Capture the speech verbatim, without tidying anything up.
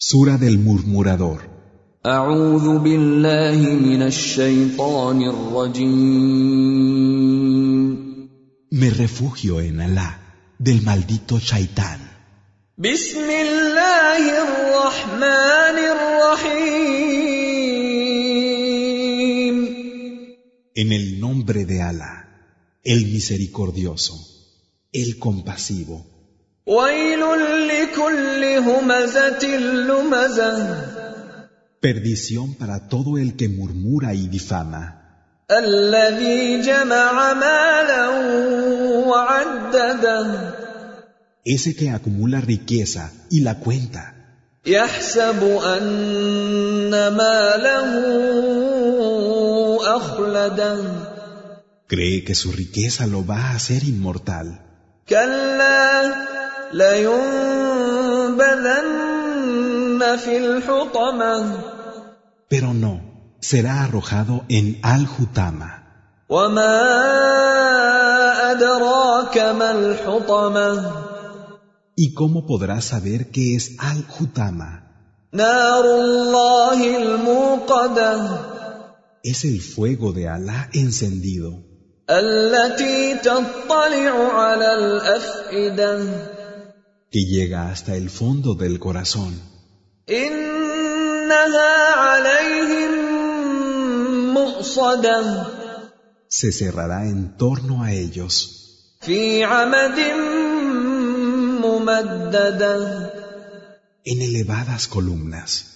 Sura del murmurador. أعوذ بالله من الشيطان الرجيم. Me refugio en Alá, del maldito Shaitán. بسم الله الرحمن الرحيم. En el nombre de Alá, el misericordioso, el compasivo. ويل لكل همزة لمزة. Perdición para todo el que murmura y difama. الذي جمع مالا وعدده. Ese que acumula riqueza y la cuenta. يحسب أن ماله أخلده. Cree que su riqueza lo va a hacer inmortal. كلا لينبذن في الحطمة. Pero no, será arrojado en Al-Hutama. وما أدراك ما الحطمة. ¿Y cómo podrás saber qué es Al-Hutama? نار الله الموقدة. Es el fuego de Alá encendido, التي تطلع على الأفئدة. que llega hasta el fondo del corazón. إنها عليهم مؤصدة. Se cerrará en torno a ellos, في عمد ممددة. en elevadas columnas.